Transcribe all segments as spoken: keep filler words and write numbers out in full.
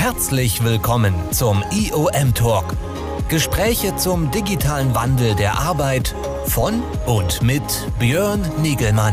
Herzlich willkommen zum I O M Talk. Gespräche zum digitalen Wandel der Arbeit von und mit Björn Nigelmann.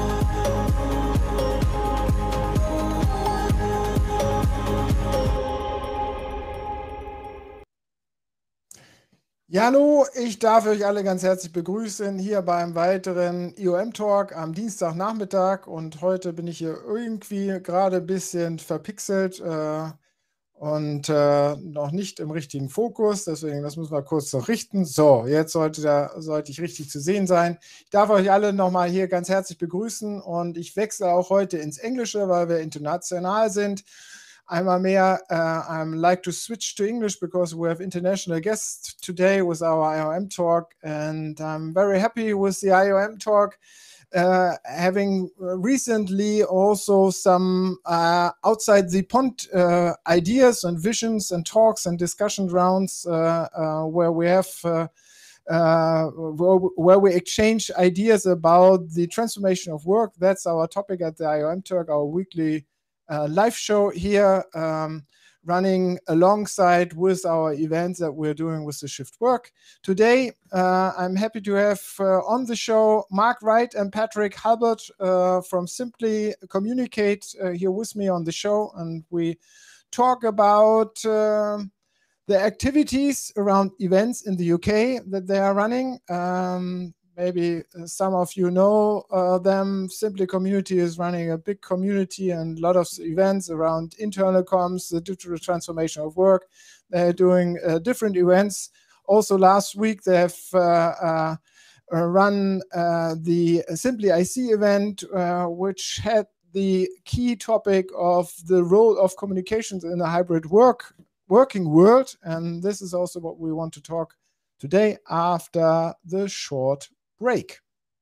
Ja, hallo, ich darf euch alle ganz herzlich begrüßen hier beim weiteren I O M Talk am Dienstagnachmittag, und heute bin ich hier irgendwie gerade ein bisschen verpixelt äh, und äh, noch nicht im richtigen Fokus, deswegen das müssen wir kurz noch richten. So, jetzt sollte, da, sollte ich richtig zu sehen sein. Ich darf euch alle nochmal hier ganz herzlich begrüßen, und ich wechsle auch heute ins Englische, weil wir international sind. Einmal mehr, uh, I'm like to switch to English because we have international guests today with our I O M talk, and I'm very happy with the I O M talk, uh, having recently also some uh, outside the pond uh, ideas and visions and talks and discussion rounds uh, uh, where we have uh, Uh, where, where we exchange ideas about the transformation of work. That's our topic at the I O M Talk, our weekly uh, live show here, um, running alongside with our events that we're doing with the Shift Work. Today, uh, I'm happy to have uh, on the show Mark Wright and Patrick Halbert uh, from Simply Communicate uh, here with me on the show, and we talk about uh, the activities around events in the U K that they are running. Um, maybe some of you know uh, them. Simply Community is running a big community and a lot of events around internal comms, the digital transformation of work. They're doing uh, different events. Also last week they have uh, uh, run uh, the Simply I C event, uh, which had the key topic of the role of communications in a hybrid work working world, and this is also what we want to talk today after the short break.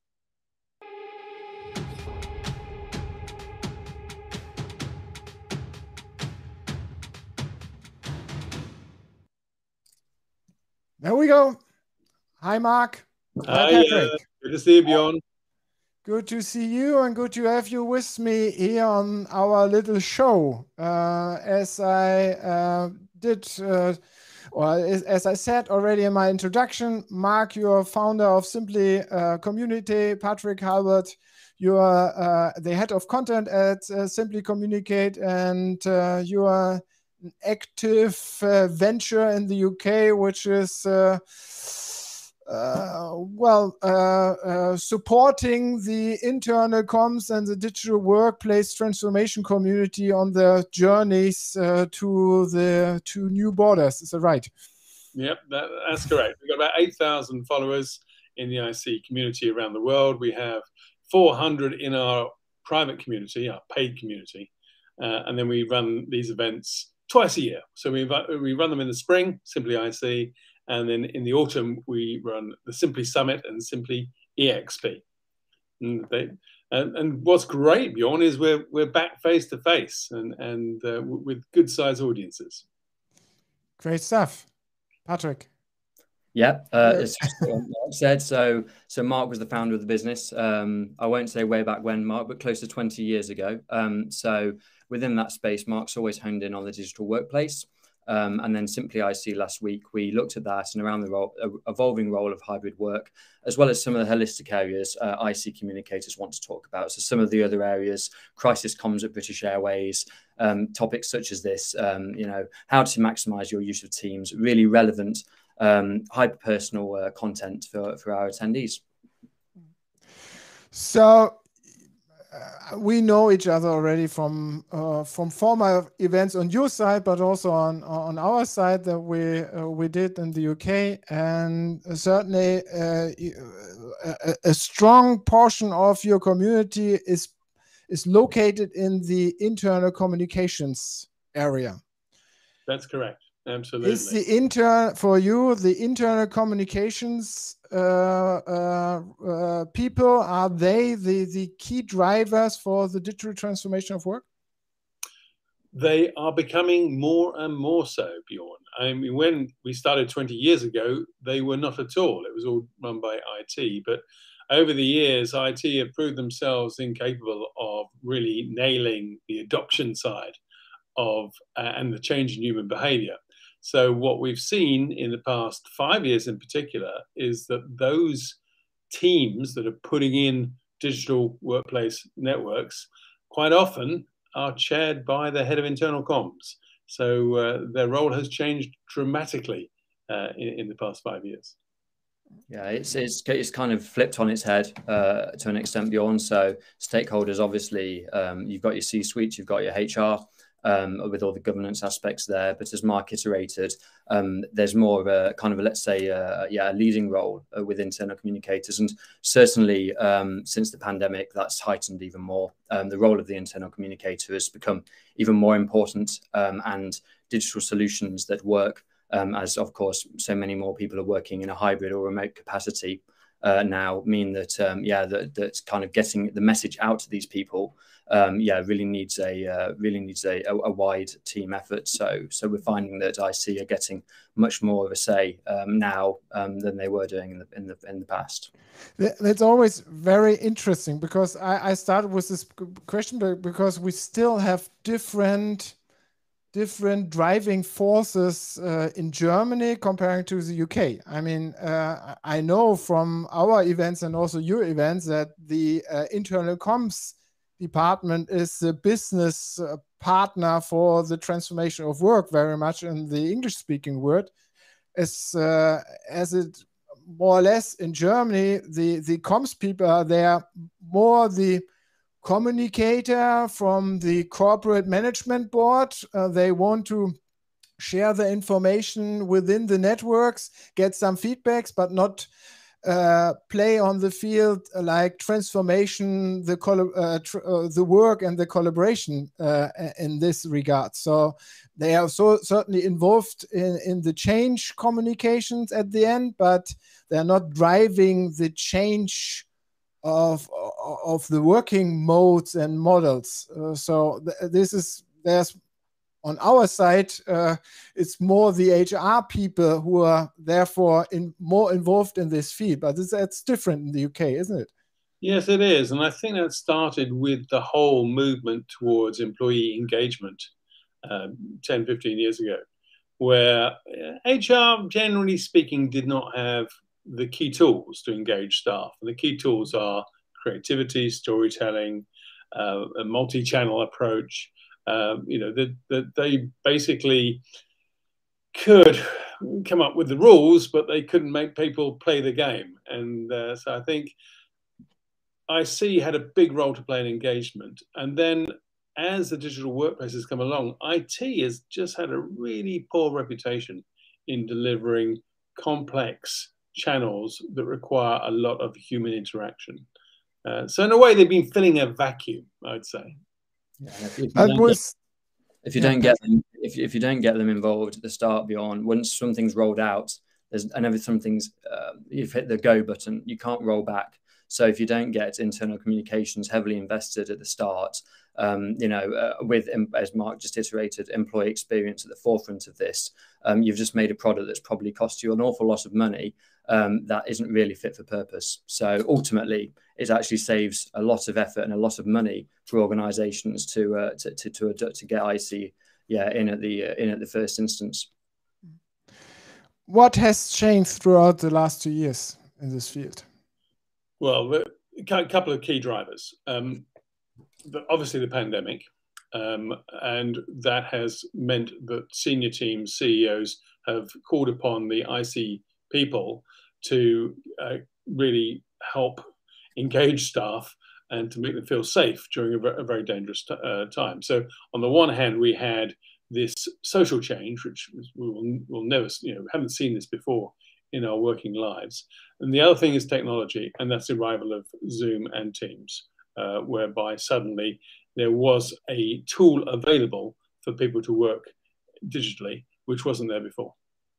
There we go. Hi, Mark. Hi, Hi Patrick. Uh, good to see you, Björn. Good to see you, and good to have you with me here on our little show. Uh, as I uh, did, uh, or as, as I said already in my introduction, Mark, you are founder of Simply uh, Community. Patrick Halbert, you are uh, the head of content at uh, Simply Communicate, and uh, you are an active uh, venture in the U K, which is uh, Uh, well, uh, uh, supporting the internal comms and the digital workplace transformation community on their journeys uh, to the to new borders. Is that right? Yep, that, that's correct. We've got about eight thousand followers in the I C community around the world. We have four hundred in our private community, our paid community, uh, and then we run these events twice a year. So we, we run them in the spring, Simply I C, and then in the autumn, we run the Simply Summit and Simply E X P. And, they, and, and what's great, Björn, is we're, we're back face to face and, and uh, with good sized audiences. Great stuff. Patrick. Yeah, uh, as Mark said, so, so Mark was the founder of the business. Um, I won't say way back when, Mark, but close to twenty years ago. Um, so within that space, Mark's always honed in on the digital workplace. Um, and then Simply I C last week, we looked at that and around the role, uh, evolving role of hybrid work, as well as some of the holistic areas uh, I C communicators want to talk about. So some of the other areas, crisis comms at British Airways, um, topics such as this, um, you know, how to maximize your use of Teams, really relevant, um, hyper-personal uh, content for, for our attendees. So, Uh, we know each other already from uh, from former events on your side, but also on on our side that we uh, we did in the U K, and certainly uh, a, a strong portion of your community is is located in the internal communications area. That's correct. Absolutely. Is the inter for you the internal communications uh, uh, uh, people, are they the the key drivers for the digital transformation of work? They are becoming more and more so, Björn. I mean, when we started twenty years ago, they were not at all. It was all run by I T. But over the years, I T have proved themselves incapable of really nailing the adoption side of uh, and the change in human behavior. So what we've seen in the past five years in particular is that those teams that are putting in digital workplace networks quite often are chaired by the head of internal comms. So uh, their role has changed dramatically uh, in, in the past five years. Yeah, it's it's it's kind of flipped on its head uh, to an extent, Bjorn. So stakeholders, obviously, um, you've got your C-suite, you've got your H R, um, with all the governance aspects there. But as Mark iterated, um, there's more of a kind of a, let's say, uh, yeah, a leading role uh, with internal communicators. And certainly um, since the pandemic, that's heightened even more. Um, the role of the internal communicator has become even more important, um, and digital solutions that work, um, as of course, so many more people are working in a hybrid or remote capacity uh, now, mean that, um, yeah, that, that's kind of getting the message out to these people. Um, yeah, really needs a uh, really needs a, a, a wide team effort. So, so we're finding that I C are getting much more of a say um, now um, than they were doing in the in the in the past. That's always very interesting, because I, I started with this question because we still have different different driving forces uh, in Germany comparing to the U K. I mean, uh, I know from our events and also your events that the uh, internal comms department is the business uh, partner for the transformation of work, very much in the English-speaking word. As, uh, as it more or less in Germany, the, the comms people are there more the communicator from the corporate management board. Uh, they want to share the information within the networks, get some feedbacks, but not Uh, play on the field uh, like transformation, the uh, tr uh, the work and the collaboration uh, in this regard. So they are so certainly involved in, in the change communications at the end, but they're not driving the change of of the working modes and models. Uh, so th this is there's. On our side, uh, it's more the H R people who are therefore in, more involved in this field, but it's, that's different in the U K, isn't it? Yes, it is. And I think that started with the whole movement towards employee engagement um, ten, fifteen years ago, where H R, generally speaking, did not have the key tools to engage staff. And the key tools are creativity, storytelling, uh, a multi-channel approach. Um, you know, that the, they basically could come up with the rules, but they couldn't make people play the game. And uh, so I think I C had a big role to play in engagement. And then as the digital workplace has come along, I T has just had a really poor reputation in delivering complex channels that require a lot of human interaction. Uh, so in a way, they've been filling a vacuum, I'd say. Yeah, if, you was, get, if you yeah. don't get them, if, if you don't get them involved at the start, beyond once something's rolled out, there's and every something's uh, you've hit the go button, you can't roll back. So if you don't get internal communications heavily invested at the start, um, you know, uh, with, as Mark just iterated, employee experience at the forefront of this, um, you've just made a product that's probably cost you an awful lot of money um, that isn't really fit for purpose. So ultimately, it actually saves a lot of effort and a lot of money for organisations to, uh, to to to to get I C, yeah, in at the uh, in at the first instance. What has changed throughout the last two years in this field? Well, a couple of key drivers. Um, obviously, the pandemic, um, and that has meant that senior teams, C E Os, have called upon the I C people to uh, really help engage staff and to make them feel safe during a, a very dangerous uh, time. So, on the one hand, we had this social change, which we will, will never, you know, haven't seen this before in our working lives. And the other thing is technology, and that's the arrival of Zoom and Teams, uh, whereby suddenly there was a tool available for people to work digitally, which wasn't there before.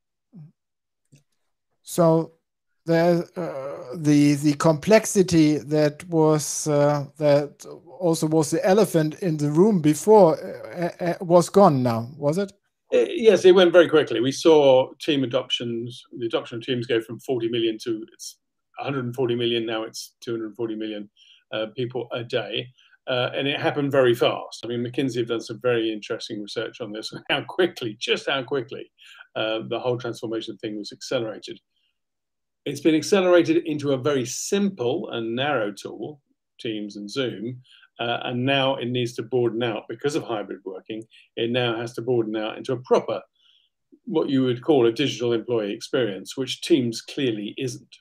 So the uh, the the complexity that was uh, that also was the elephant in the room before uh, uh, was gone now, was it? Yes, it went very quickly. We saw team adoptions, the adoption of Teams go from forty million to it's one hundred forty million, now it's two hundred forty million uh, people a day. Uh, and it happened very fast. I mean, McKinsey have done some very interesting research on this, and how quickly, just how quickly, uh, the whole transformation thing was accelerated. It's been accelerated into a very simple and narrow tool, Teams and Zoom, uh, and now it needs to broaden out because of hybrid working. It now has to broaden out into a proper, what you would call a digital employee experience, which Teams clearly isn't.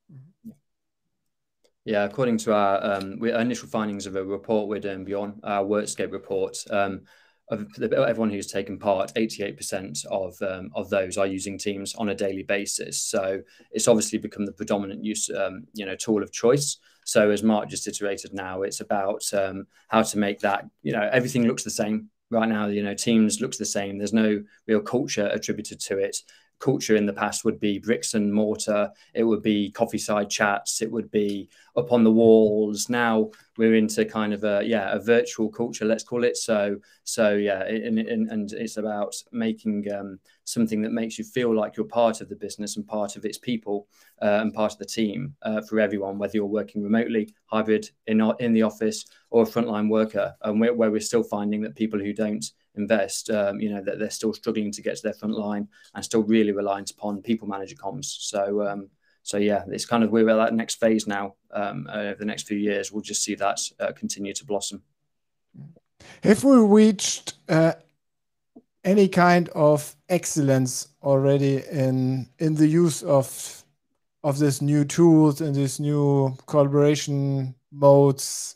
Yeah, according to our, um, our initial findings of a report we're doing beyond our Workscape report, um, of everyone who's taken part, eighty-eight percent of um, of those are using Teams on a daily basis. So it's obviously become the predominant use, um, you know, tool of choice. So as Mark just iterated now, it's about um, how to make that, you know, everything looks the same right now. You know, Teams looks the same. There's no real culture attributed to it. Culture in the past would be bricks and mortar. It would be coffee side chats. It would be up on the walls. Now we're into kind of a, yeah, a virtual culture, let's call it. So, so yeah, and, and, and it's about making um, something that makes you feel like you're part of the business and part of its people uh, and part of the team uh, for everyone, whether you're working remotely, hybrid, in, in the office, or a frontline worker. And we're, where we're still finding that people who don't invest, um, you know, that they're still struggling to get to their front line and still really reliant upon people manager comms. So, um, so yeah, it's kind of, we're at that next phase now. Um, over the next few years, we'll just see that uh, continue to blossom. Have we reached uh, any kind of excellence already in in the use of of these new tools and these new collaboration modes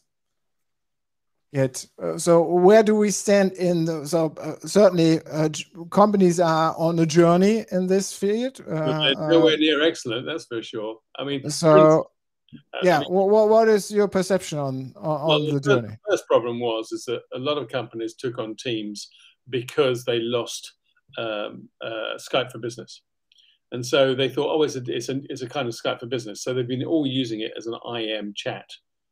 yet? Uh, so where do we stand in the, so uh, certainly uh, companies are on a journey in this field. Uh, they're nowhere near excellent, that's for sure. I mean, so yeah, I mean, what, what is your perception on, on well, the, the journey? The first problem was is that a lot of companies took on Teams because they lost um, uh, Skype for Business. And so they thought, oh, it's a, it's, a, it's a kind of Skype for Business. So they've been all using it as an I M chat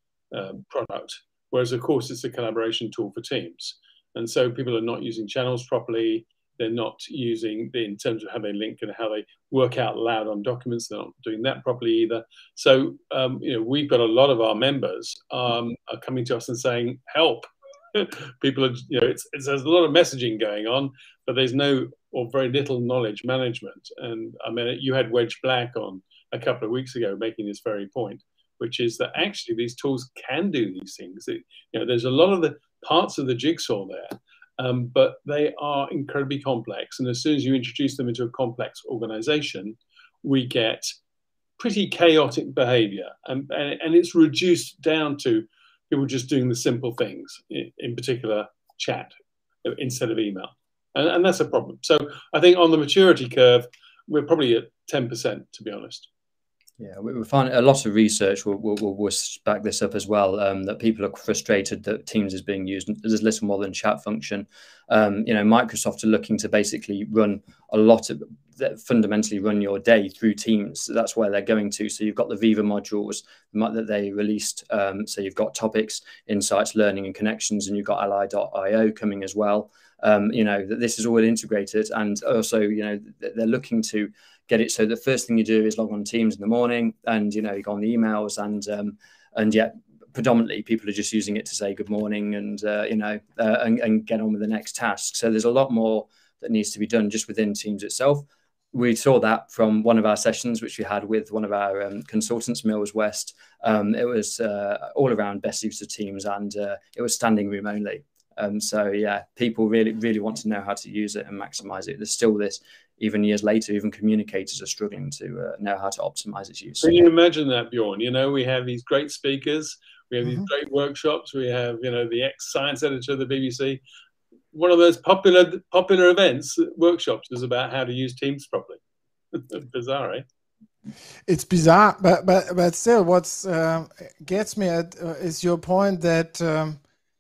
um, product, whereas, of course, it's a collaboration tool for Teams. And so people are not using channels properly. They're not using, in terms of how they link and how they work out loud on documents, they're not doing that properly either. So, um, you know, we've got a lot of our members um, are coming to us and saying, help. People are, you know, it's, it's, there's a lot of messaging going on, but there's no or very little knowledge management. And I mean, you had Wedge Black on a couple of weeks ago making this very point, which is that actually these tools can do these things. It, you know, there's a lot of the parts of the jigsaw there, um, but they are incredibly complex. And as soon as you introduce them into a complex organization, we get pretty chaotic behavior. And, and, and it's reduced down to people just doing the simple things, in, in particular chat instead of email. And, and that's a problem. So I think on the maturity curve, we're probably at ten percent, to be honest. Yeah, we find a lot of research will, will, will back this up as well, um, that people are frustrated that Teams is being used. There's little more than chat function. Um, you know, Microsoft are looking to basically run a lot of, fundamentally run your day through Teams. So that's where they're going to. So you've got the Viva modules that they released. Um, so you've got topics, insights, learning and connections, and you've got ally dot i o coming as well. Um, you know, that this is all integrated, and also, you know, they're looking to get it so the first thing you do is log on Teams in the morning, and you know, you go on the emails, and um, and yet predominantly people are just using it to say good morning and uh, you know uh, and, and get on with the next task. So there's a lot more that needs to be done just within Teams itself. We saw that from one of our sessions, which we had with one of our um, consultants, Mills West. Um, it was uh, all around best use of Teams, and uh, it was standing room only. Um, so yeah, people really, really want to know how to use it and maximize it. There's still this, even years later, even communicators are struggling to uh, know how to optimize its use. Can you imagine that, Bjorn? You know, we have these great speakers, we have Mm-hmm. these great workshops, we have, you know, the ex-science editor of the B B C. One of those popular popular events, workshops, is about how to use Teams properly. Bizarre, eh? It's bizarre, but but but still, what's uh, gets me at uh, is your point that um,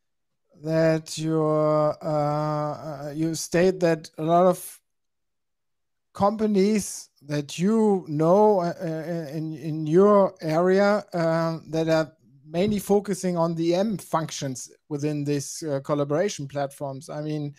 that your uh, you state that a lot of companies that you know uh, in in your area uh, that are mainly focusing on the M functions within these uh, collaboration platforms. I mean,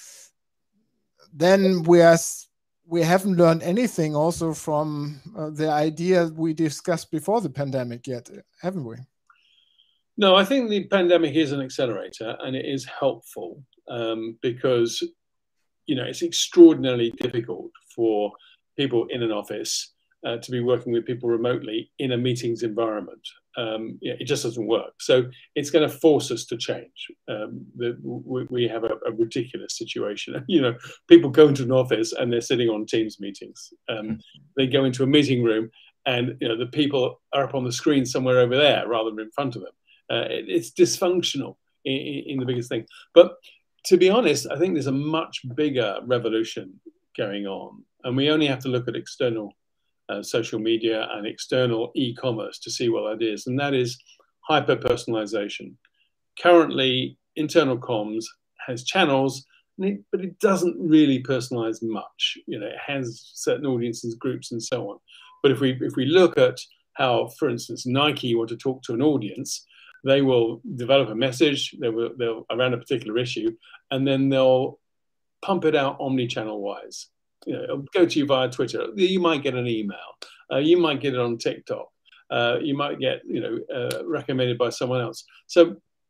then we are. We haven't learned anything also from uh, the idea we discussed before the pandemic yet, haven't we? No, I think the pandemic is an accelerator, and it is helpful um, because, you know, it's extraordinarily difficult for people in an office uh, to be working with people remotely in a meetings environment. Um, yeah, it just doesn't work. So it's going to force us to change. Um, the, we, we have a, a ridiculous situation. You know, people go into an office and they're sitting on Teams meetings. Um, they go into a meeting room and, you know, the people are up on the screen somewhere over there rather than in front of them. Uh, it, it's dysfunctional in, in the biggest thing. But to be honest, I think there's a much bigger revolution going on. And we only have to look at external Uh, social media and external e-commerce to see what that is, and that is hyper-personalization. Currently, internal comms has channels, but it doesn't really personalize much. You know, it has certain audiences, groups, and so on. But if we if we look at how, for instance, Nike want to talk to an audience, they will develop a message, they will they'll around a particular issue, and then they'll pump it out omni-channel wise. You know, it'll go to you via Twitter. You might get an email. Uh, you might get it on TikTok. Uh, you might get, you know, uh, recommended by someone else. So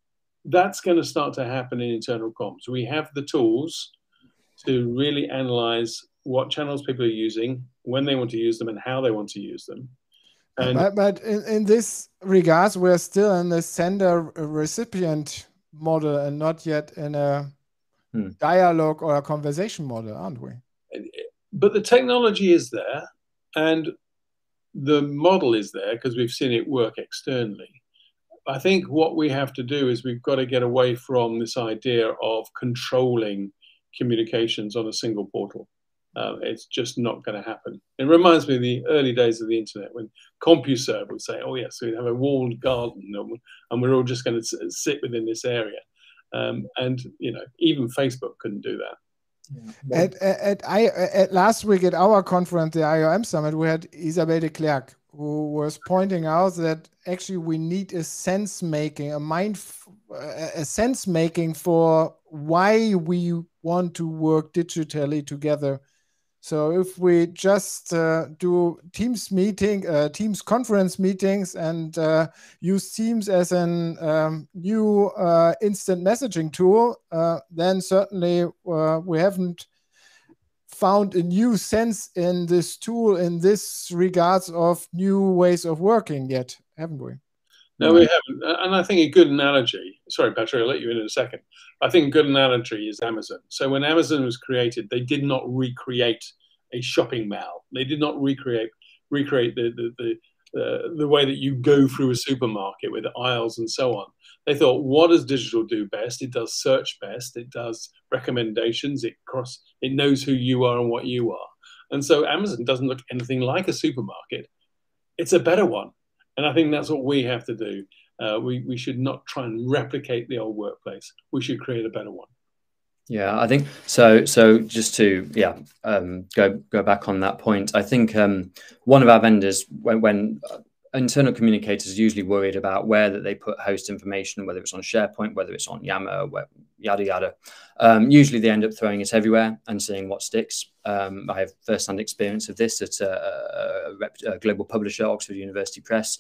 that's going to start to happen in internal comms. We have the tools to really analyze what channels people are using, when they want to use them, and how they want to use them. And but but in, in this regards, we're still in the sender-recipient model and not yet in a hmm. dialogue or a conversation model, aren't we? But the technology is there and the model is there because we've seen it work externally. I think what we have to do is we've got to get away from this idea of controlling communications on a single portal. Uh, it's just not going to happen. It reminds me of the early days of the internet when CompuServe would say, oh yes, we have a walled garden and we're all just going to sit within this area. Um, and, you know, even Facebook couldn't do that. Yeah. At, at, at, I, at last week at our conference, the I O M Summit, we had Isabelle de Klerk, who was pointing out that actually we need a sense making, a mind, a sense making for why we want to work digitally together. So if we just uh, do Teams meeting, uh, Teams conference meetings, and uh, use Teams as an um, new uh, instant messaging tool, uh, then certainly uh, we haven't found a new sense in this tool in this regards of new ways of working yet, haven't we? No, we haven't. And I think a good analogy, sorry, Patrick, I'll let you in in a second. I think a good analogy is Amazon. So when Amazon was created, they did not recreate a shopping mall. They did not recreate recreate the, the, the, uh, the way that you go through a supermarket with aisles and so on. They thought, what does digital do best? It does search best. It does recommendations. It cross. It knows who you are and what you are. And so Amazon doesn't look anything like a supermarket. It's a better one. And I think that's what we have to do. Uh, we, we should not try and replicate the old workplace. We should create a better one. Yeah, I think so. So just to yeah um, go go back on that point, I think um, one of our vendors, when, when uh, internal communicators are usually worried about where that they put host information, whether it's on SharePoint, whether it's on Yammer, where, yada yada. Um, usually they end up throwing it everywhere and seeing what sticks. Um, I have first-hand experience of this at a, a, a global publisher, Oxford University Press.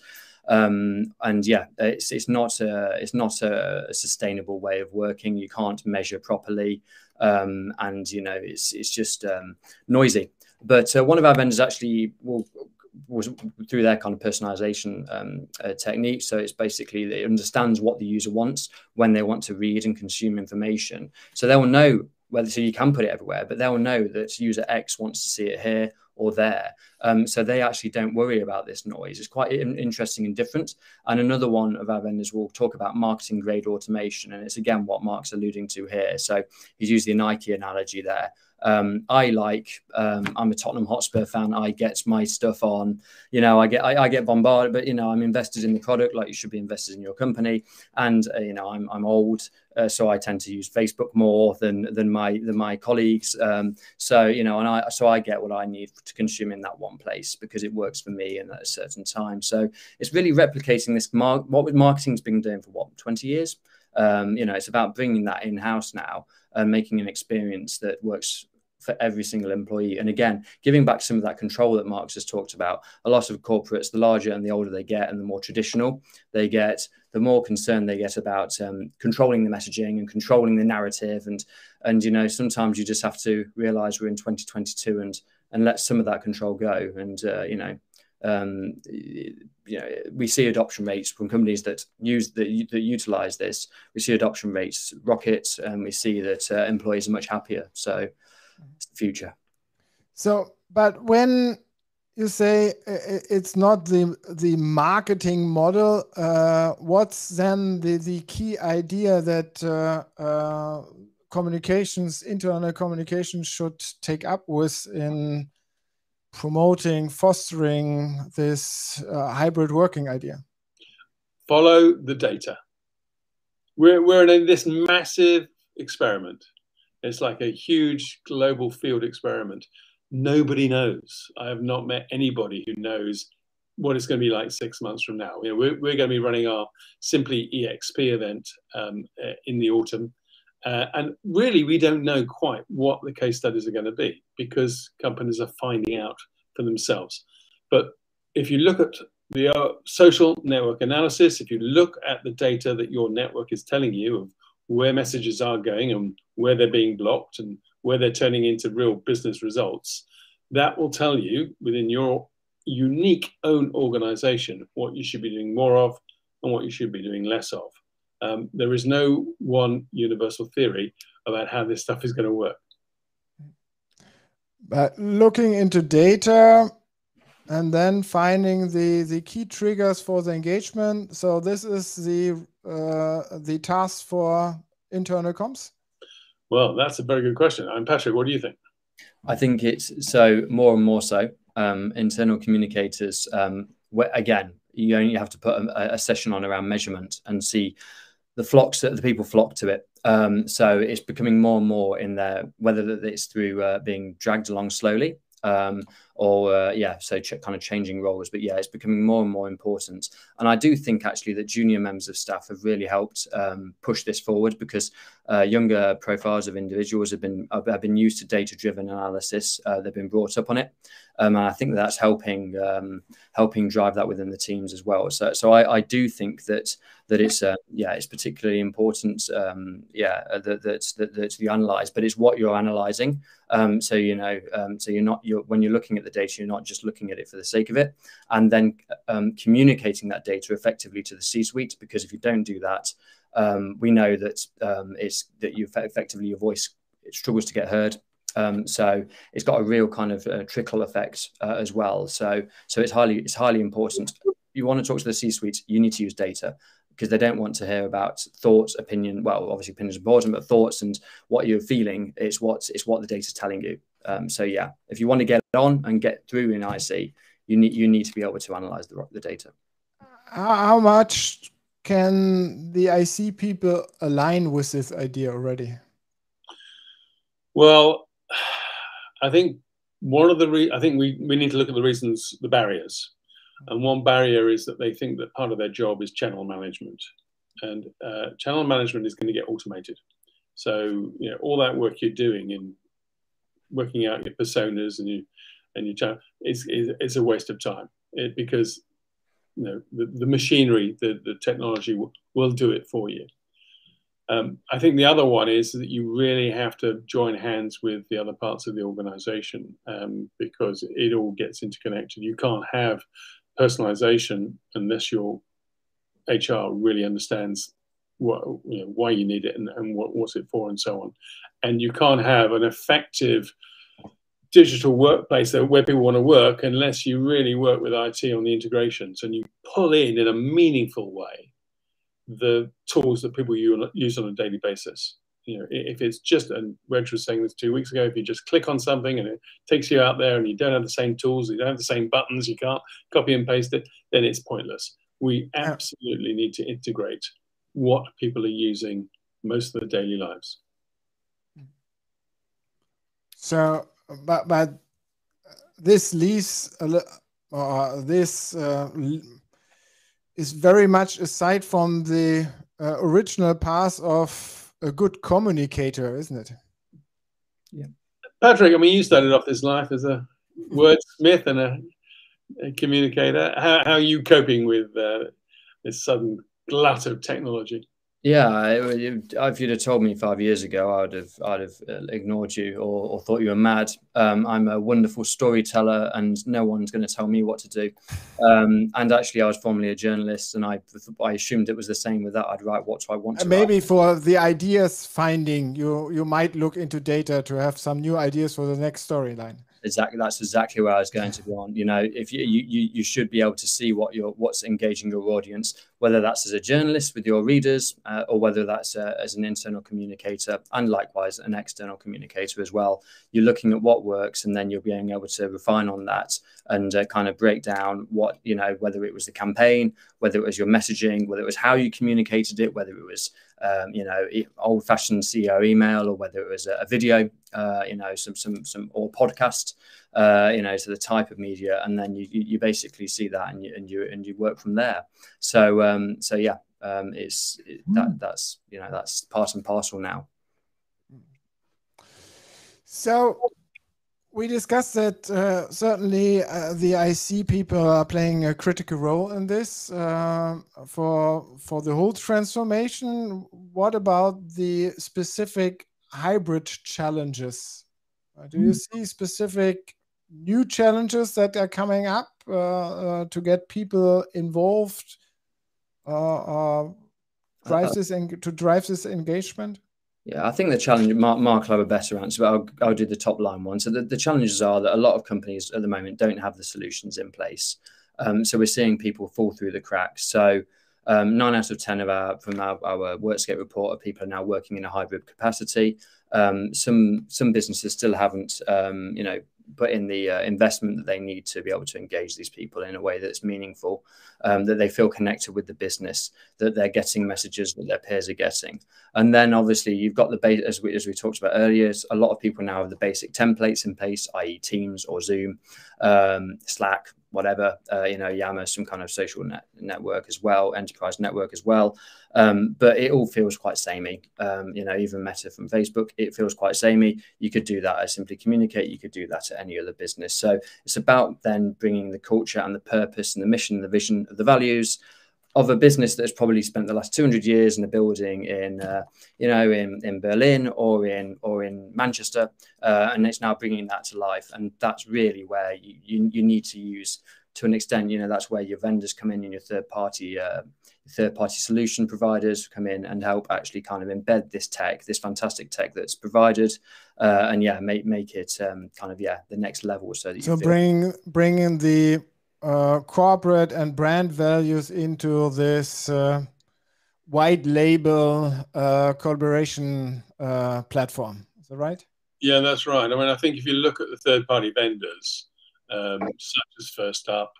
Um, and yeah, it's it's not a, it's not a, a sustainable way of working. You can't measure properly, um, and you know it's it's just um, noisy. But uh, one of our vendors actually will, was through their kind of personalization um, uh, technique. So it's basically it understands what the user wants when they want to read and consume information. So they will know whether so you can put it everywhere, but they'll know that user X wants to see it here or there. Um, so they actually don't worry about this noise. It's quite interesting and different. And another one of our vendors will talk about marketing grade automation. And it's again what Mark's alluding to here. So he's used the Nike analogy there. Um, I like, um, I'm a Tottenham Hotspur fan. I get my stuff on, you know, I get, I, I get bombarded, but, you know, I'm invested in the product like you should be invested in your company. And, uh, you know, I'm, I'm old. Uh, so I tend to use Facebook more than, than my, than my colleagues. Um, so, you know, and I, so I get what I need to consume in that one place because it works for me and at a certain time. So it's really replicating this, mar what marketing's been doing for what, twenty years? Um, you know, it's about bringing that in-house now and making an experience that works for every single employee. And again, giving back some of that control that Mark has talked about. A lot of corporates, the larger and the older they get and the more traditional they get, the more concerned they get about um, controlling the messaging and controlling the narrative. And, and, you know, sometimes you just have to realize we're in twenty twenty-two and, and let some of that control go. And, uh, you know, um, you know, we see adoption rates from companies that use the, that utilize this. We see adoption rates rocket, and we see that uh, employees are much happier. So it's the future. So, but when you say it's not the the marketing model, uh, what's then the the key idea that uh, uh, communications, internal communications, should take up with in promoting, fostering this uh, hybrid working idea? Follow the data. We're, we're in this massive experiment. It's like a huge global field experiment. Nobody knows. I have not met anybody who knows what it's going to be like six months from now. You know, we're, we're going to be running our Simply E X P event um, uh, in the autumn. Uh, and really, we don't know quite what the case studies are going to be because companies are finding out for themselves. But if you look at the uh, social network analysis, if you look at the data that your network is telling you of where messages are going and where they're being blocked and where they're turning into real business results, that will tell you within your unique own organization what you should be doing more of and what you should be doing less of. Um, there is no one universal theory about how this stuff is going to work. But looking into data and then finding the, the key triggers for the engagement. So this is the, uh, the task for internal comms? Well, that's a very good question. I'm Patrick, what do you think? I think it's so more and more so. Um, internal communicators, um, where, again, you only have to put a, a session on around measurement and see the flocks that the people flock to it. Um, so it's becoming more and more in there, whether it's through uh, being dragged along slowly um, or, uh, yeah, so kind of changing roles. But yeah, it's becoming more and more important. And I do think actually that junior members of staff have really helped um, push this forward because uh, younger profiles of individuals have been have been used to data-driven analysis. Uh, they've been brought up on it. Um, and I think that that's helping um, helping drive that within the teams as well. So, so I, I do think that that it's uh, yeah, it's particularly important. Um, yeah, that that's that, that you analyze, but it's what you're analyzing. Um, so you know, um, so you're not you're when you're looking at the data, you're not just looking at it for the sake of it, and then um, communicating that data effectively to the C-suite. Because if you don't do that, um, we know that um, it's that you effectively your voice it struggles to get heard. Um, so it's got a real kind of uh, trickle effect uh, as well. So so it's highly it's highly important. You want to talk to the C-suite, you need to use data because they don't want to hear about thoughts, opinion. Well, obviously opinion is important, but thoughts and what you're feeling, it's what it's what the data is telling you. Um, so yeah, if you want to get on and get through in I C, you need you need to be able to analyze the the data. How much can the I C people align with this idea already? Well, I think one of the re I think we, we need to look at the reasons, the barriers. And one barrier is that they think that part of their job is channel management. And uh, channel management is going to get automated. So, you know, all that work you're doing in working out your personas and you and your channel is, is, is a waste of time it, because, you know, the, the machinery, the, the technology will, will do it for you. Um, I think the other one is that you really have to join hands with the other parts of the organization um, because it all gets interconnected. You can't have personalization unless your H R really understands what, you know, why you need it and, and what, what's it for and so on. And you can't have an effective digital workplace that, where people want to work unless you really work with I T on the integrations and you pull in in a meaningful way the tools that people use on a daily basis. You know, if it's just, and Reg was saying this two weeks ago, if you just click on something and it takes you out there and you don't have the same tools, you don't have the same buttons, you can't copy and paste it, then it's pointless. We absolutely need to integrate what people are using most of their daily lives. So, but, but this leaves, uh, this uh, is very much aside from the uh, original path of a good communicator, isn't it? Yeah. Patrick, I mean, you started off this life as a wordsmith and a, a communicator. How, how are you coping with uh, this sudden glut of technology? Yeah, if you'd have told me five years ago, I'd have I'd have ignored you or, or thought you were mad. Um, I'm a wonderful storyteller, and no one's going to tell me what to do. Um, and actually, I was formerly a journalist, and I I assumed it was the same with that. I'd write what I want to Maybe write. For the ideas finding, you you might look into data to have some new ideas for the next storyline. Exactly, that's exactly where I was going to go on. You know, if you you you should be able to see what your what's engaging your audience, whether that's as a journalist with your readers, uh, or whether that's uh, as an internal communicator, and likewise an external communicator as well. You're looking at what works, and then you're being able to refine on that and uh, kind of break down what, you know, whether it was the campaign, whether it was your messaging, whether it was how you communicated it, whether it was Um, you know, old-fashioned C E O email, or whether it was a, a video, uh, you know, some some some or podcast, uh, you know, so the type of media, and then you you, you basically see that, and you and you and you work from there. So um, so yeah, um, it's it, that that's you know that's part and parcel now. So we discussed that uh, certainly uh, the I C people are playing a critical role in this uh, for for the whole transformation. What about the specific hybrid challenges? Uh, do you see specific new challenges that are coming up uh, uh, to get people involved, uh, uh, drive this to drive this engagement? Yeah, I think the challenge, Mark, Mark will have a better answer, but I'll, I'll do the top line one. So the, the challenges are that a lot of companies at the moment don't have the solutions in place. Um, so we're seeing people fall through the cracks. So um, nine out of ten of our, from our, our Workscape report, of people are now working in a hybrid capacity. Um, some, some businesses still haven't, um, you know, put in the uh, investment that they need to be able to engage these people in a way that's meaningful, um, that they feel connected with the business, that they're getting messages that their peers are getting. And then obviously you've got the base, as we, as we talked about earlier, a lot of people now have the basic templates in place, that is Teams or Zoom, um, Slack, whatever, uh, you know, Yammer, some kind of social net network as well, enterprise network as well. Um, but it all feels quite samey. Um, you know, even Meta from Facebook, it feels quite samey. You could do that as Simply Communicate. You could do that at any other business. So it's about then bringing the culture and the purpose and the mission and the vision of the values of a business that's probably spent the last two hundred years in a building in, uh, you know, in, in Berlin or in or in Manchester, uh, and it's now bringing that to life. And that's really where you, you, you need to use, to an extent, you know, that's where your vendors come in and your third party, uh, third party solution providers come in and help actually kind of embed this tech, this fantastic tech that's provided, uh, and yeah, make make it um, kind of yeah the next level. So that you so feel bring bringing the uh, corporate and brand values into this uh, white label uh, collaboration uh, platform. Is that right? Yeah, that's right. I mean, I think if you look at the third party vendors, um, such as First Up,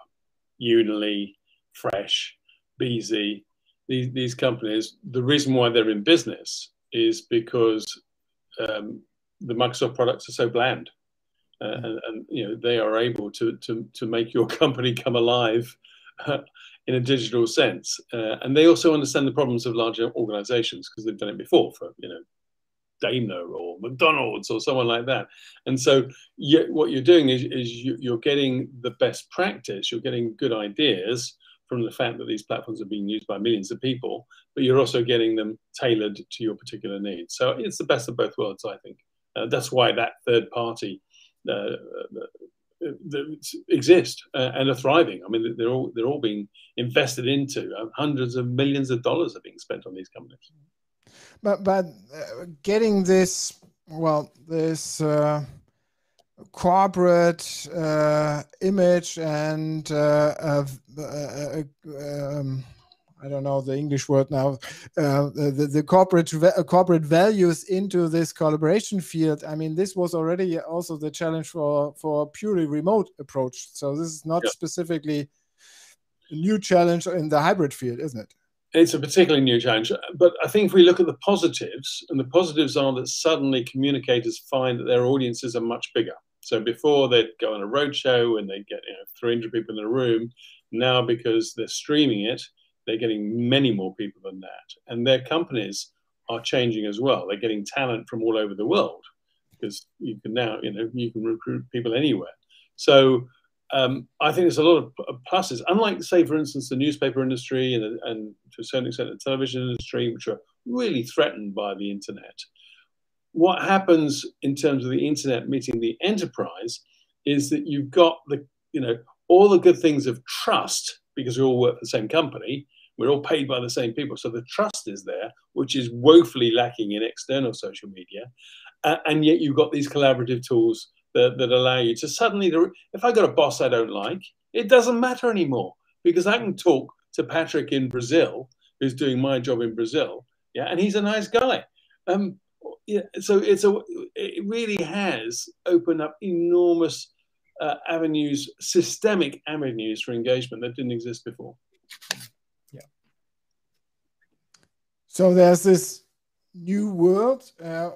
Unily, Fresh, B Z, these, these companies, the reason why they're in business is because um, the Microsoft products are so bland. Uh, and, and you know, they are able to to to make your company come alive uh, in a digital sense, uh, and they also understand the problems of larger organizations because they've done it before for, you know, Daimler or McDonald's or someone like that. And so you, what you're doing is, is you, you're getting the best practice, you're getting good ideas from the fact that these platforms are being used by millions of people, but you're also getting them tailored to your particular needs. So it's the best of both worlds, I think. Uh, that's why that third party Uh, that exist uh, and are thriving. I mean, they're all they're all being invested into. Uh, hundreds of millions of dollars are being spent on these companies. But but uh, getting this well this uh, corporate uh, image and uh, uh, uh, um, I don't know the English word now, uh, the, the corporate corporate values into this collaboration field. I mean, this was already also the challenge for, for a purely remote approach. So this is not yeah. specifically a new challenge in the hybrid field, isn't it? It's a particularly new challenge. But I think if we look at the positives, and the positives are that suddenly communicators find that their audiences are much bigger. So before they'd go on a roadshow and they'd get, you know, three hundred people in a room. Now, because they're streaming it, they're getting many more people than that. And their companies are changing as well. They're getting talent from all over the world. because you can now, you know, you can recruit people anywhere. So um, I think there's a lot of pluses. Unlike, say, for instance, the newspaper industry and, and to a certain extent the television industry, which are really threatened by the internet. What happens in terms of the internet meeting the enterprise is that you've got the, you know, all the good things of trust, because we all work for the same company. We're all paid by the same people. So the trust is there, which is woefully lacking in external social media. Uh, and yet you've got these collaborative tools that, that allow you to suddenly, if I got a boss I don't like, it doesn't matter anymore, because I can talk to Patrick in Brazil, who's doing my job in Brazil. Yeah, and he's a nice guy. Um, yeah, so it's a, it really has opened up enormous uh, avenues, systemic avenues for engagement that didn't exist before. Yeah. So there's this new world. Uh,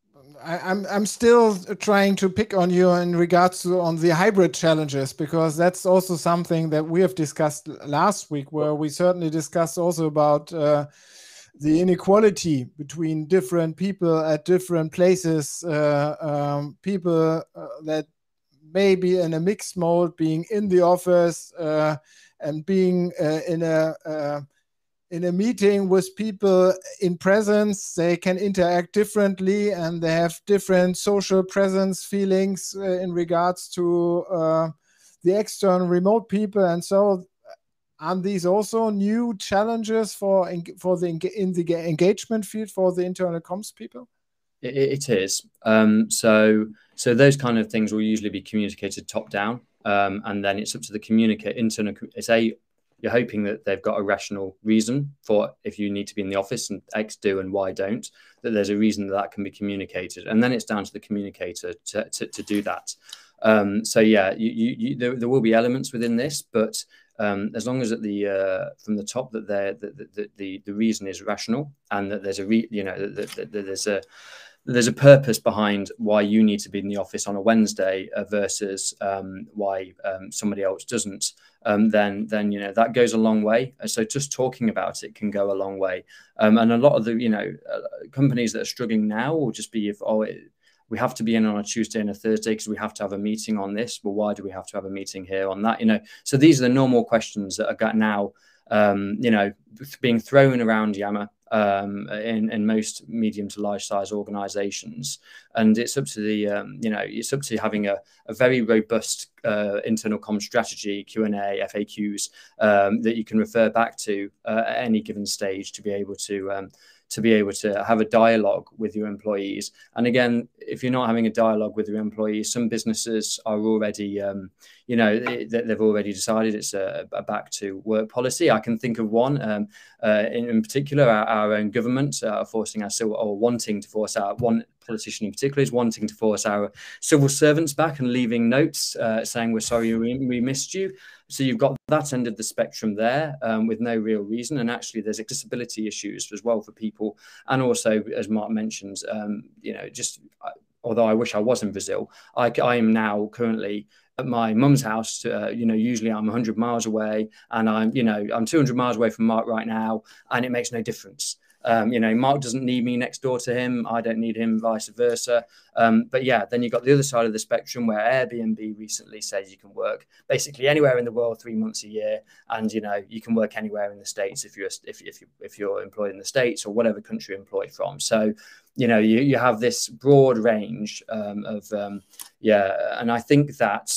I, I'm I'm still trying to pick on you in regards to on the hybrid challenges, because that's also something that we have discussed last week, where we certainly discussed also about uh, the inequality between different people at different places, uh, um, people uh, that may be in a mixed mode, being in the office uh, and being uh, in a uh, in a meeting with people in presence. They can interact differently, and they have different social presence feelings uh, in regards to uh, the external remote people. And so aren't these also new challenges for for the in the engagement field for the internal comms people? It, it is. Um, so so those kind of things will usually be communicated top down, um, and then it's up to the communicate internal. It's a You're hoping that they've got a rational reason for if you need to be in the office and X do and Y don't, that there's a reason that, that can be communicated. And then it's down to the communicator to, to, to do that. Um, so, yeah, you, you, you, there, there will be elements within this, but um, as long as at the uh, from the top that the, the, the, the reason is rational, and that there's a, re, you know, that, that, that there's a there's a purpose behind why you need to be in the office on a Wednesday uh, versus um, why um, somebody else doesn't, um, then, then, you know, that goes a long way. And so just talking about it can go a long way. Um, and a lot of the, you know, uh, companies that are struggling now will just be if, oh, it, we have to be in on a Tuesday and a Thursday because we have to have a meeting on this. Well, why do we have to have a meeting here on that? You know, so these are the normal questions that are got now, um, you know, being thrown around Yammer. Um, in, in most medium to large size organizations. And it's up to the, um, you know, it's up to having a, a very robust uh, internal comm strategy, Q and A, F A Qs um, that you can refer back to uh, at any given stage to be able to um, to be able to have a dialogue with your employees. And again, if you're not having a dialogue with your employees, some businesses are already, um, you know, they've already decided it's a, a back to work policy. I can think of one um, uh, in, in particular, our, our own government uh, are forcing us or wanting to force our one politician in particular is wanting to force our civil servants back and leaving notes uh, saying, we're sorry, we, we missed you. So you've got that end of the spectrum there um, with no real reason. And actually there's accessibility issues as well for people. And also, as Mark mentions, um, you know, just although I wish I was in Brazil, I, I am now currently at my mum's house. Uh, you know, usually I'm one hundred miles away, and I'm, you know, I'm two hundred miles away from Mark right now, and it makes no difference. Um, you know, Mark doesn't need me next door to him. I don't need him, vice versa. Um, but yeah, then you've got the other side of the spectrum where Airbnb recently says you can work basically anywhere in the world three months a year, and you know you can work anywhere in the States if you're if if you if you're employed in the States or whatever country you're employed from. So you know you you have this broad range um, of um, yeah, and I think that.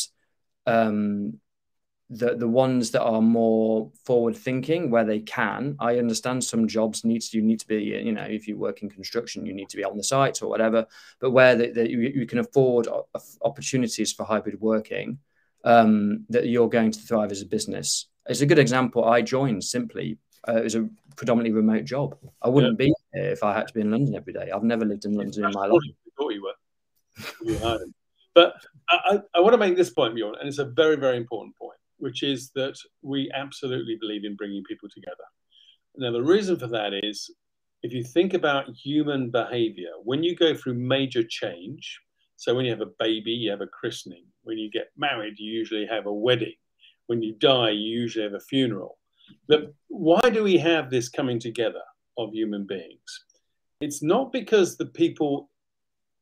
Um, The, the ones that are more forward thinking where they can, I understand some jobs needs you need to be, you know, if you work in construction, you need to be on the site or whatever, but where the, the, you, you can afford opportunities for hybrid working, um, that you're going to thrive as a business. It's a good example. I joined simply, uh, it was a predominantly remote job. I wouldn't yeah. be here if I had to be in London every day. I've never lived in London in my life. I thought you were. But I, I want to make this point, Bjorn, and it's a very, very important point, which is that we absolutely believe in bringing people together. Now, the reason for that is, if you think about human behavior, when you go through major change, so when you have a baby, you have a christening. When you get married, you usually have a wedding. When you die, you usually have a funeral. But why do we have this coming together of human beings? It's not because the people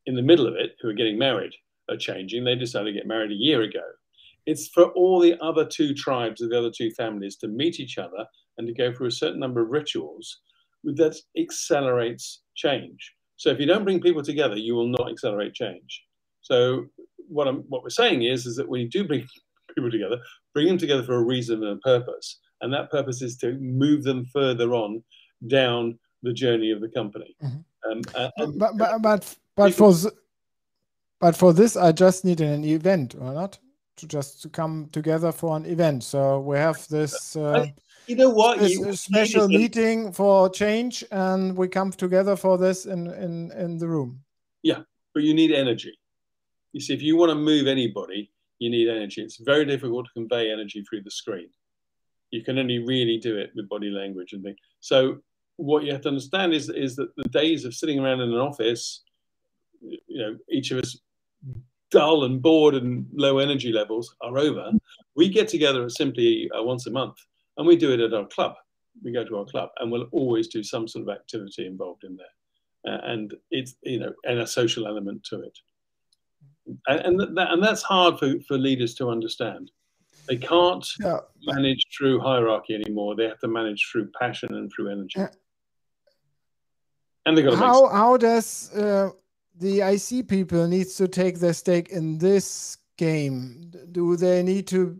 in the middle of it who are getting married are changing. They decided to get married a year ago. It's for all the other two tribes of the other two families to meet each other and to go through a certain number of rituals that accelerates change. So if you don't bring people together, you will not accelerate change. So what I'm what we're saying is, is that when you do bring people together, bring them together for a reason and a purpose. And that purpose is to move them further on down the journey of the company. Mm-hmm. um, uh, and, but, but, but, but, for but for this, I just need an event, or not? To just to come together for an event. So we have this uh, you know what this you, special you meeting for change, and we come together for this in, in, in the room. Yeah, but you need energy. You see, if you want to move anybody, you need energy. It's very difficult to convey energy through the screen. You can only really do it with body language and things. So what you have to understand is, is that the days of sitting around in an office, you know, each of us dull and bored and low energy levels are over. We get together simply uh, once a month, and we do it at our club. We go to our club, and we'll always do some sort of activity involved in there, uh, and it's, you know, and a social element to it. And and, that, and that's hard for, for leaders to understand. They can't yeah. manage through hierarchy anymore. They have to manage through passion and through energy. Yeah. And they got to how make how does uh... the I C people needs to take their stake in this game? Do they need to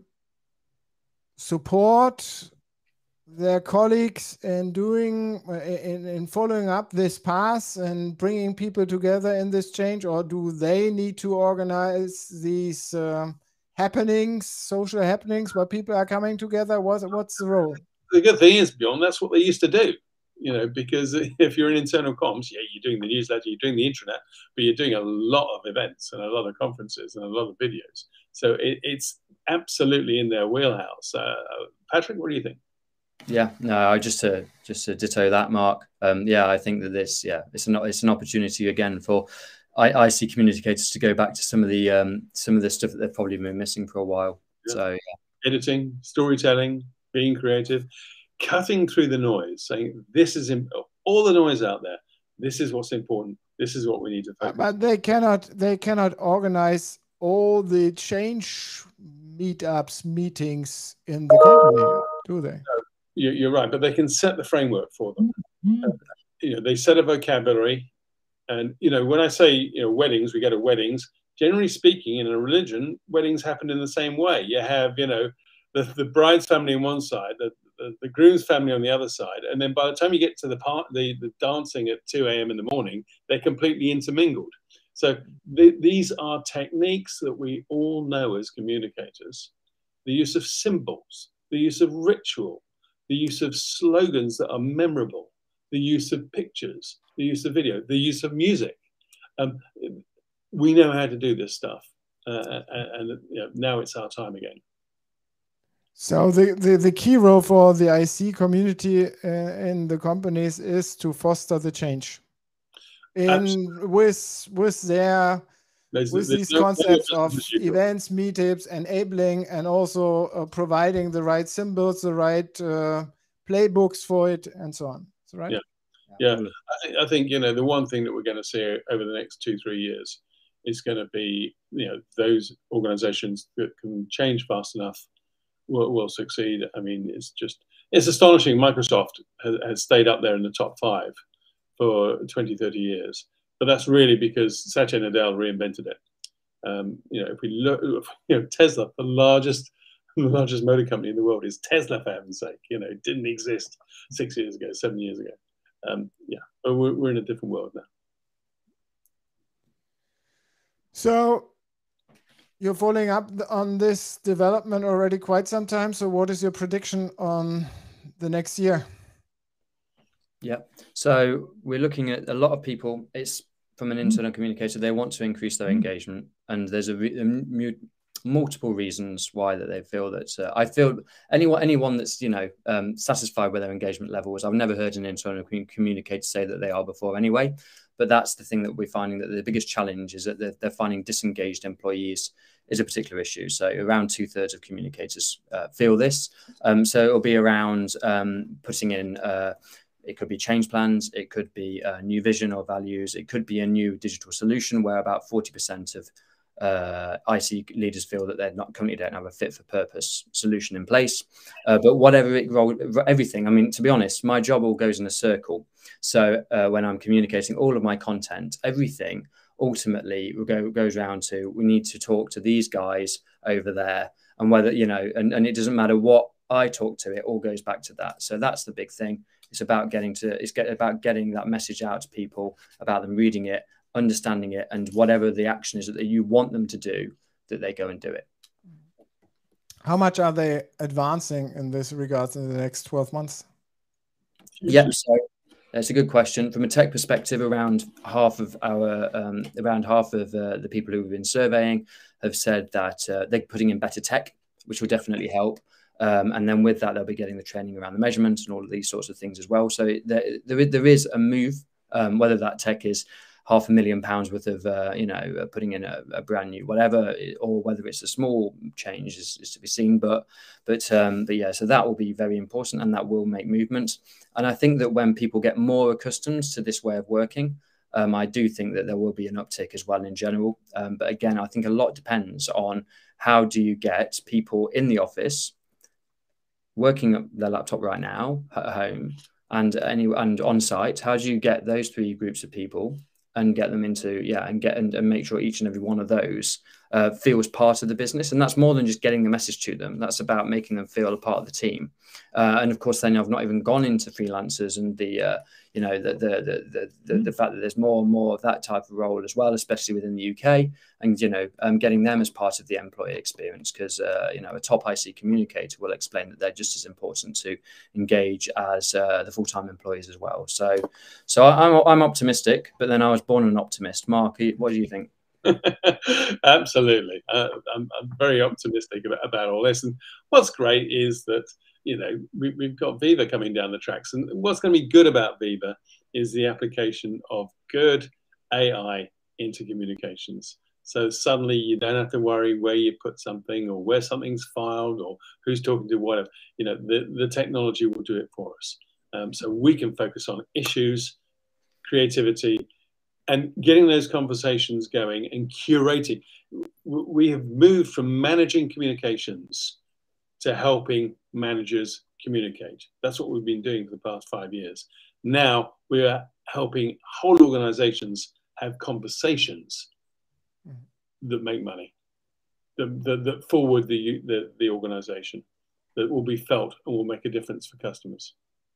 support their colleagues in doing, in, in following up this path and bringing people together in this change, or do they need to organize these uh, happenings, social happenings where people are coming together? What's, what's the role? The good thing is, Bjorn, that's what they used to do. You know, because if you're in internal comms, yeah, you're doing the newsletter, you're doing the intranet, but you're doing a lot of events and a lot of conferences and a lot of videos. So it, it's absolutely in their wheelhouse. Uh, Patrick, what do you think? Yeah, no, I just to just to ditto that, Mark. Um, yeah, I think that this, yeah, it's an it's an opportunity again for I, I C communicators to go back to some of the um, some of the stuff that they've probably been missing for a while. Yeah. So yeah. Editing, storytelling, being creative. Cutting through the noise, saying this is all the noise out there. This is what's important. This is what we need to focus. But they cannot. They cannot organize all the change meetups, meetings in the company, do they? No, you're right, but they can set the framework for them. Mm-hmm. uh, you know, they set a vocabulary, and you know, when I say you know weddings, we go to weddings. Generally speaking, in a religion, weddings happen in the same way. You have you know the the bride's family on one side, the The, the groom's family on the other side, and then by the time you get to the part the, the dancing at two A M in the morning, they're completely intermingled. So th these are techniques that we all know as communicators. The use of symbols, the use of ritual, the use of slogans that are memorable, the use of pictures, the use of video, the use of music. Um, we know how to do this stuff, uh, and, and you know, now it's our time again. So the, the, the key role for the I C community uh, in the companies is to foster the change in with with their there's, with there's these no concepts of events, meetups, enabling, and also uh, providing the right symbols, the right uh, playbooks for it, and so on. Is that right? Yeah, yeah. I think, I think you know the one thing that we're going to see over the next two three years is going to be you know those organizations that can change fast enough Will, will succeed. I mean, it's just, it's astonishing. Microsoft has, has stayed up there in the top five for twenty, thirty years. But that's really because Satya Nadella reinvented it. Um, you know, if we look, you know, Tesla, the largest, the largest motor company in the world is Tesla, for heaven's sake. You know, it didn't exist six years ago, seven years ago. Um, yeah, but we're, we're in a different world now. So, you're following up on this development already quite some time. So what is your prediction on the next year? Yeah. So we're looking at a lot of people. It's from an internal communicator. They want to increase their engagement. And there's a, a multiple reasons why that they feel that uh, I feel anyone, anyone that's, you know, um, satisfied with their engagement levels. I've never heard an internal communicator say that they are before anyway. But that's the thing that we're finding, that the biggest challenge is that they're, they're finding disengaged employees is a particular issue. So around two thirds of communicators uh, feel this. Um, so it'll be around um, putting in uh, It could be change plans. It could be a new vision or values. It could be a new digital solution where about forty percent of uh, I C leaders feel that they're not currently don't have a fit for purpose solution in place. Uh, but whatever it role, everything. I mean, to be honest, my job all goes in a circle. So uh, when I'm communicating all of my content, everything ultimately go, goes around to we need to talk to these guys over there, and whether you know, and, and it doesn't matter what I talk to, it all goes back to that. So that's the big thing. It's about getting to it's get about getting that message out to people, about them reading it, understanding it, and whatever the action is that you want them to do, that they go and do it. How much are they advancing in this regard in the next twelve months? Yeah, so that's a good question. From a tech perspective, around half of our um, around half of uh, the people who have been surveying have said that uh, they're putting in better tech, which will definitely help. Um, and then with that, they'll be getting the training around the measurements and all of these sorts of things as well. So there, there, there is a move, um, whether that tech is half a million pounds worth of, uh, you know, putting in a, a brand new whatever, or whether it's a small change is, is to be seen. But, but, um, but yeah, so that will be very important, and that will make movement. And I think that when people get more accustomed to this way of working, um, I do think that there will be an uptick as well in general. Um, but again, I think a lot depends on how do you get people in the office working up their laptop right now at home and any and on site. How do you get those three groups of people and get them into, yeah, and get and, and make sure each and every one of those uh, feels part of the business? And that's more than just getting the message to them. That's about making them feel a part of the team. Uh, and of course, then I've not even gone into freelancers and the, uh, you know, the the, the the the fact that there's more and more of that type of role as well, especially within the U K, and you know, um, getting them as part of the employee experience, because uh, you know, a top I C communicator will explain that they're just as important to engage as uh, the full-time employees as well. So, so I'm I'm optimistic, but then I was born an optimist. Mark, what do you think? Absolutely, uh, I'm, I'm very optimistic about, about all this. And what's great is that, you know, we, we've got Viva coming down the tracks, and what's going to be good about Viva is the application of good A I into communications. So suddenly you don't have to worry where you put something or where something's filed or who's talking to whatever. You know, the, the technology will do it for us. Um, so we can focus on issues, creativity, and getting those conversations going and curating. We have moved from managing communications to helping managers communicate. That's what we've been doing for the past five years. Now we are helping whole organizations have conversations that make money, that, that, that forward the, the, the organization, that will be felt and will make a difference for customers.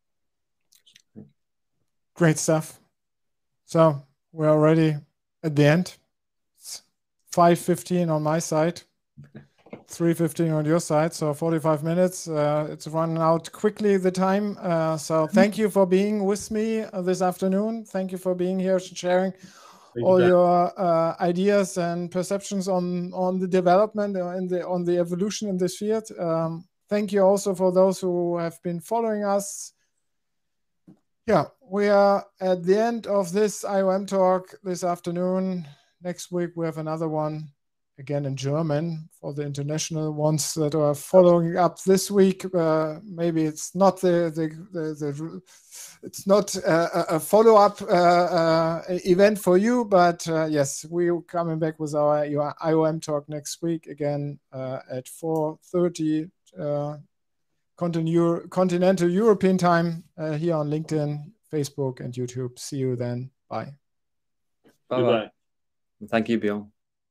Great stuff. So we're already at the end. It's five fifteen on my side, three fifteen on your side, so forty-five minutes. Uh, it's running out quickly, the time. Uh, so thank you for being with me uh, this afternoon. Thank you for being here, sharing thank all you your uh, ideas and perceptions on, on the development and the, on the evolution in this field. Um, thank you also for those who have been following us. Yeah, we are at the end of this I O M talk this afternoon. Next week, we have another one, again in German, for the international ones that are following up this week. Uh, maybe it's not the, the, the, the it's not a, a follow-up uh, uh, event for you, but uh, yes, we're coming back with our I O M talk next week, again uh, at four thirty uh, Continental, Continental European time uh, here on LinkedIn, Facebook, and YouTube. See you then. Bye. Bye. Bye. Thank you, Björn.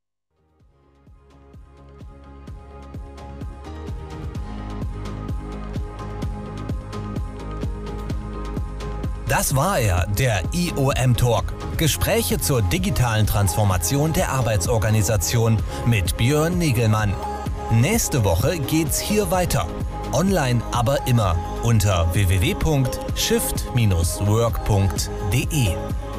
Das war er, der I O M Talk. Gespräche zur digitalen Transformation der Arbeitsorganisation mit Björn Nigelmann. Nächste Woche geht's hier weiter. Online aber immer unter w w w punkt shift Bindestrich work punkt de.